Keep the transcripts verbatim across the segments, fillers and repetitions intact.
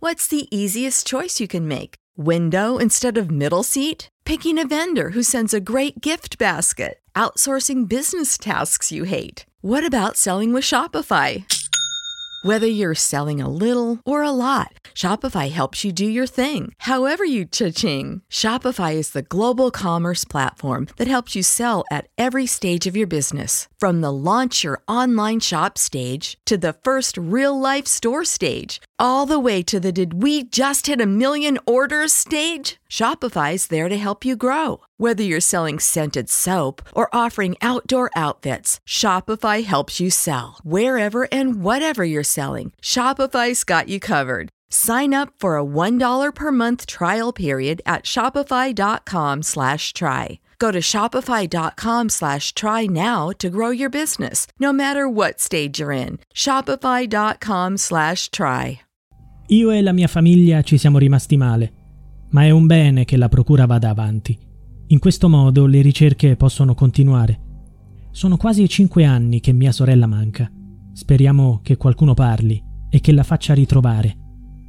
What's the easiest choice you can make? Window instead of middle seat? Picking a vendor who sends a great gift basket? Outsourcing business tasks you hate? What about selling with Shopify? Whether you're selling a little or a lot, Shopify helps you do your thing, however you cha-ching. Shopify is the global commerce platform that helps you sell at every stage of your business. From the launch your online shop stage to the first real-life store stage, all the way to the did we just hit a million orders stage. Shopify's there to help you grow. Whether you're selling scented soap or offering outdoor outfits, Shopify helps you sell. Wherever and whatever you're selling, Shopify's got you covered. Sign up for a one dollar per month trial period at shopify.com slash try. Go to shopify.com slash try now to grow your business, no matter what stage you're in. Shopify.com slash try. Io e la mia famiglia ci siamo rimasti male, ma è un bene che la procura vada avanti. In questo modo le ricerche possono continuare. Sono quasi cinque anni che mia sorella manca. Speriamo che qualcuno parli e che la faccia ritrovare.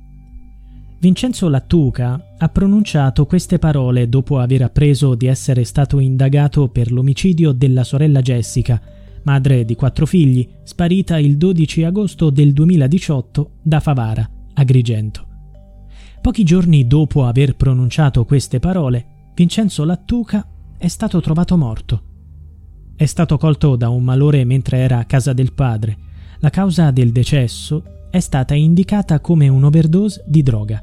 Vincenzo Lattuca ha pronunciato queste parole dopo aver appreso di essere stato indagato per l'omicidio della sorella Jessica, madre di quattro figli, sparita il dodici agosto del duemiladiciotto da Favara, Agrigento. Pochi giorni dopo aver pronunciato queste parole, Vincenzo Lattuca è stato trovato morto. È stato colto da un malore mentre era a casa del padre. La causa del decesso è stata indicata come un'overdose di droga.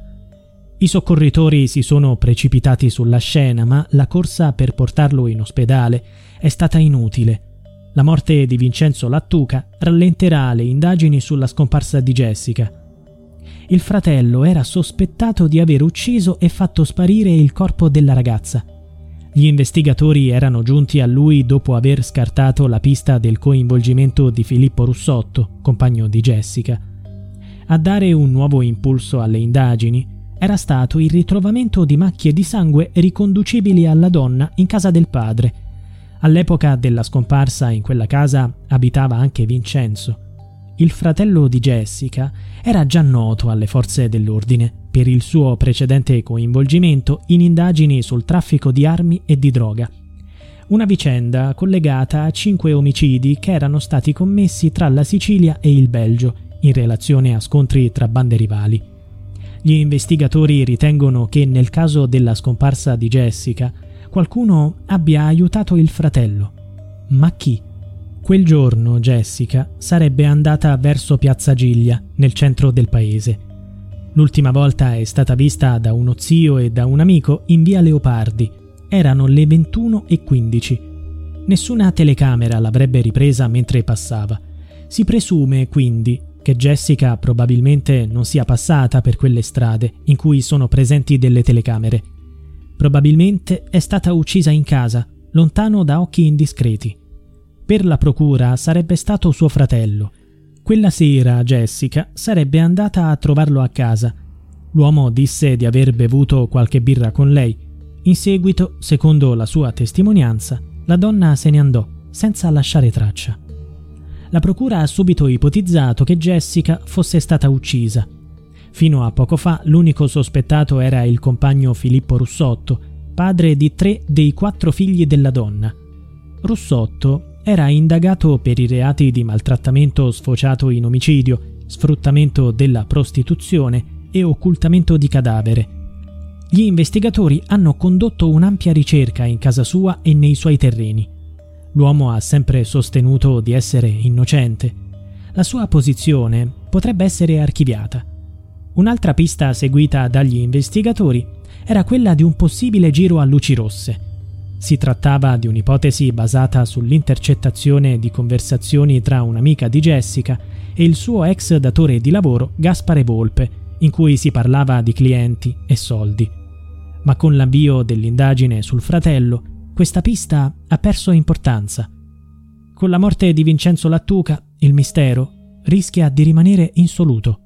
I soccorritori si sono precipitati sulla scena, ma la corsa per portarlo in ospedale è stata inutile. La morte di Vincenzo Lattuca rallenterà le indagini sulla scomparsa di Jessica. Il fratello era sospettato di aver ucciso e fatto sparire il corpo della ragazza. Gli investigatori erano giunti a lui dopo aver scartato la pista del coinvolgimento di Filippo Russotto, compagno di Jessica. A dare un nuovo impulso alle indagini era stato il ritrovamento di macchie di sangue riconducibili alla donna in casa del padre. All'epoca della scomparsa in quella casa abitava anche Vincenzo. Il fratello di Jessica era già noto alle forze dell'ordine per il suo precedente coinvolgimento in indagini sul traffico di armi e di droga. Una vicenda collegata a cinque omicidi che erano stati commessi tra la Sicilia e il Belgio in relazione a scontri tra bande rivali. Gli investigatori ritengono che nel caso della scomparsa di Jessica qualcuno abbia aiutato il fratello. Ma chi? Quel giorno Jessica sarebbe andata verso Piazza Giglia, nel centro del paese. L'ultima volta è stata vista da uno zio e da un amico in via Leopardi. Erano le ventuno e quindici. Nessuna telecamera l'avrebbe ripresa mentre passava. Si presume, quindi, che Jessica probabilmente non sia passata per quelle strade in cui sono presenti delle telecamere. Probabilmente è stata uccisa in casa, lontano da occhi indiscreti. Per la procura sarebbe stato suo fratello. Quella sera Jessica sarebbe andata a trovarlo a casa. L'uomo disse di aver bevuto qualche birra con lei. In seguito, secondo la sua testimonianza, la donna se ne andò, senza lasciare traccia. La procura ha subito ipotizzato che Jessica fosse stata uccisa. Fino a poco fa l'unico sospettato era il compagno Filippo Russotto, padre di tre dei quattro figli della donna. Russotto era indagato per i reati di maltrattamento sfociato in omicidio, sfruttamento della prostituzione e occultamento di cadavere. Gli investigatori hanno condotto un'ampia ricerca in casa sua e nei suoi terreni. L'uomo ha sempre sostenuto di essere innocente. La sua posizione potrebbe essere archiviata. Un'altra pista seguita dagli investigatori era quella di un possibile giro a luci rosse. Si trattava di un'ipotesi basata sull'intercettazione di conversazioni tra un'amica di Jessica e il suo ex datore di lavoro Gaspare Volpe, in cui si parlava di clienti e soldi. Ma con l'avvio dell'indagine sul fratello, questa pista ha perso importanza. Con la morte di Vincenzo Lattuca, il mistero rischia di rimanere insoluto.